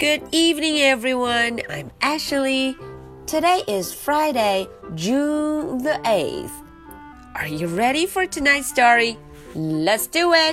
Good evening, everyone. I'm Ashley. Today is Friday, June the 8th. Are you ready for tonight's story? Let's do it.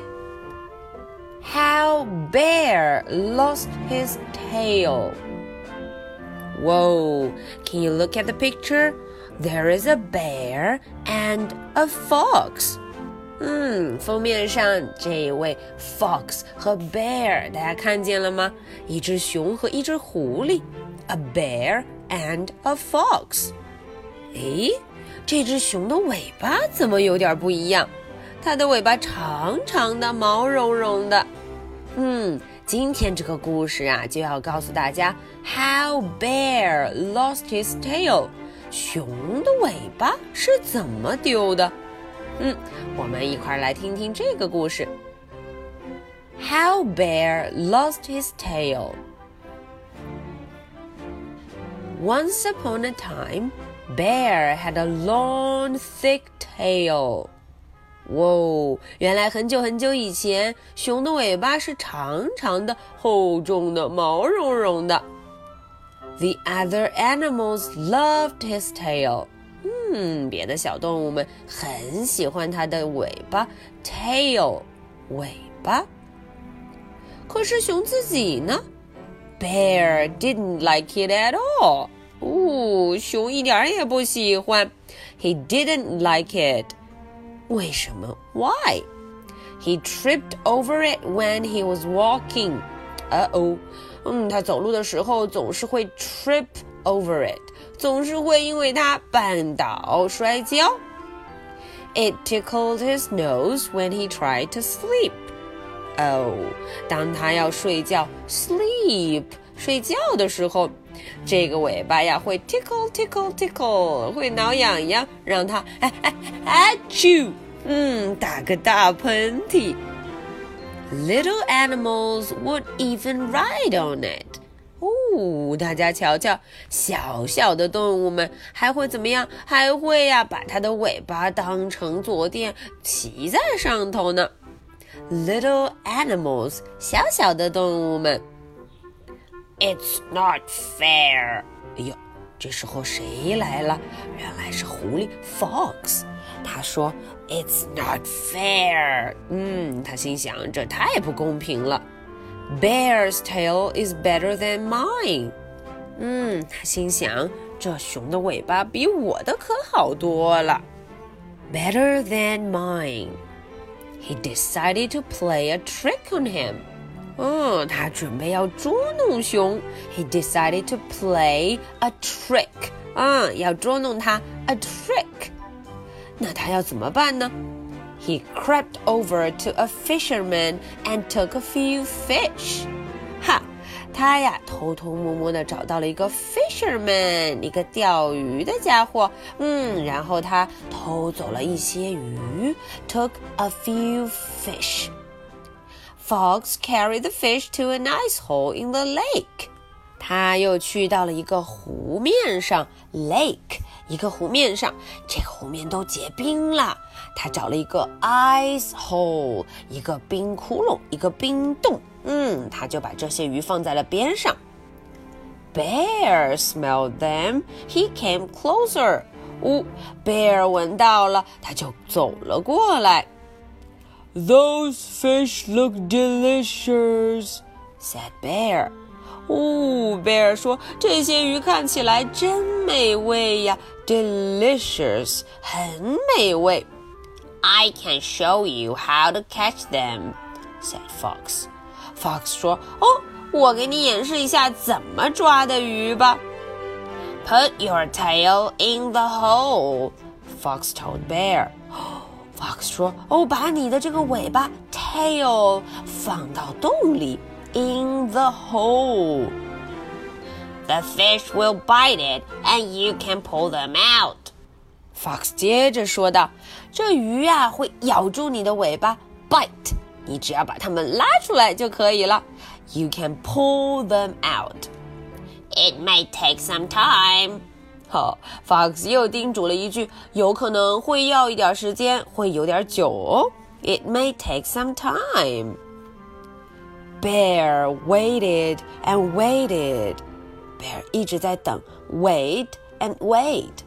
How Bear Lost His Tail. Whoa, can you look at the picture? There is a bear and a fox. 封面上这位 fox 和 bear 大家看见了吗？一只熊和一只狐狸 A bear and a fox. 诶，这只熊的尾巴怎么有点不一样？它的尾巴长长的，毛茸茸的。今天这个故事啊，就要告诉大家 How Bear Lost His Tail. 熊的尾巴是怎么丢的？我们一块来听听这个故事。How Bear Lost His Tail. Once upon a time, Bear had a long, thick tail. 原来很久很久以前，熊的尾巴是长长的、厚重的、毛茸茸的。The other animals loved his tail.别的小动物们很喜欢它的尾巴 tail 尾巴。可是熊自己呢 Bear didn't like it at all. 熊一点也不喜欢 He didn't like it. 为什么 Why? He tripped over it when he was walking. 他走路的时候总是会 trip over it.总是会因为它绊倒摔跤。It tickled his nose when he tried to sleep. 当他要睡觉 sleep 睡觉的时候，这个尾巴呀会 tickle tickle tickle 会挠痒痒，让他achoo打个大喷嚏。Little animals would even ride on it.大家瞧瞧，小小的动物们还会怎么样？还会把它的尾巴当成坐垫骑在上头呢。Little animals， 小小的动物们。It's not fair. 这时候谁来了？原来是狐狸 Fox。他说 It's not fair. 他心想这太不公平了。Bear's tail is better than mine. 他心想这熊的尾巴比我的可好多了。Better than mine. He decided to play a trick on him. 他准备要捉弄熊。He decided to play a trick. 要捉弄他 a trick. 那他要怎么办呢？He crept over to a fisherman and took a few fish. 他呀偷偷摸摸地找到了一个 fisherman， 一个钓鱼的家伙。然后他偷走了一些鱼 took a few fish. Fox carried the fish to an ice hole in the lake. 他又去到了一个湖面上 lake， 一个湖面上，这个湖面都结冰了。他找了一个 ice hole， 一个冰窟窿，一个冰洞。他就把这些鱼放在了边上。Bear smelled them. He came closer. Bear 闻到了，他就走了过来。Those fish look delicious, said Bear. Bear 说这些鱼看起来真美味呀 delicious 很美味。I can show you how to catch them, said Fox. Fox 说我给你演示一下怎么抓的鱼吧。Put your tail in the hole, Fox told Bear. Fox 说把你的这个尾巴 tail 放到洞里In the hole. The fish will bite it, and you can pull them out. Fox 接着说道，这鱼会咬住你的尾巴 bite， 你只要把它们拉出来就可以了。You can pull them out. It may take some time. Fox 又叮嘱了一句，有可能会要一点时间，会有点久哦。It may take some time. Bear waited and waited. Bear 一直在等 wait and wait.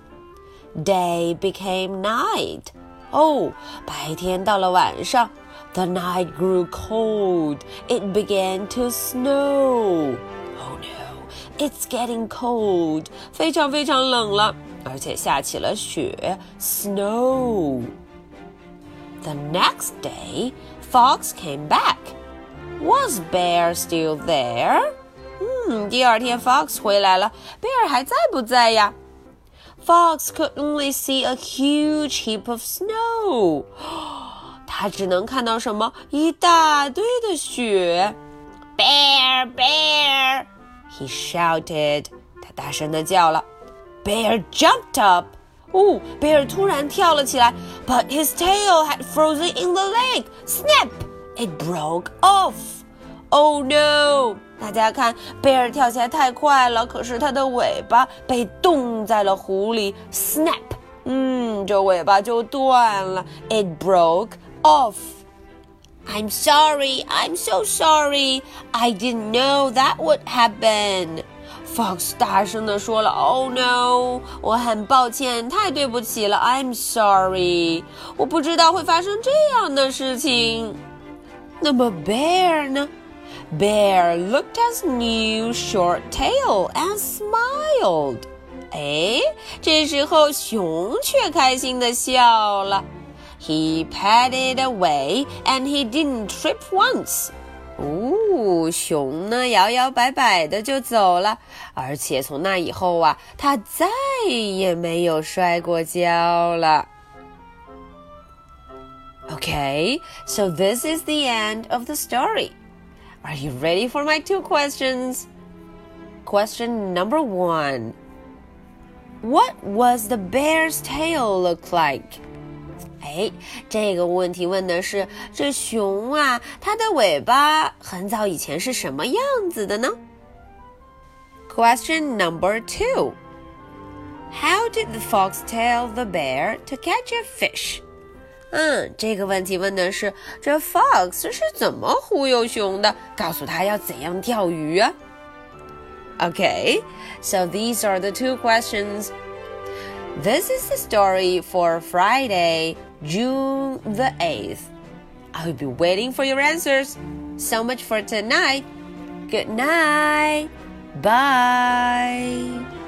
Day became night. 白天到了晚上 The night grew cold. It began to snow. Oh no, it's getting cold. 非常非常冷了，而且下起了雪 Snow. The next day, Fox came back. Was Bear still there? 第二天 Fox 回来了 Bear 还在不在呀？Fox could only see a huge heap of snow. 他只能看到什么？一大堆的雪。Bear, bear! He shouted. 他大声地叫了。Bear jumped up. Bear 突然跳了起来 But his tail had frozen in the lake. Snap! It broke off. Oh no! 大家看 Bear 跳起来太快了，可是他的尾巴被冻在了湖里 Snap! 这尾巴就断了 It broke off. I'm sorry, I'm so sorry. I didn't know that would happen. Fox 大声地说了 Oh no, 我很抱歉，太对不起了 I'm sorry. 我不知道会发生这样的事情。那么 Bear 呢？Bear looked at his new short tail and smiled. 这时候熊却开心地笑了。He padded away and he didn't trip once. 熊呢摇摇摆摆的就走了，而且从那以后啊，他再也没有摔过跤了。Okay, so this is the end of the story.Are you ready for my 2 questions? Question number 1. What was the bear's tail look like? 这个问题问的是这熊啊，它的尾巴很早以前是什么样子的呢？ Question number 2. How did the fox tell the bear to catch a fish?这个问题问的是这 Fox 是怎么忽悠熊的，告诉他要怎样钓鱼啊？ Okay, so these are the 2 questions. This is the story for Friday, June the 8th. I'll be waiting for your answers. So much for tonight. Good night. Bye.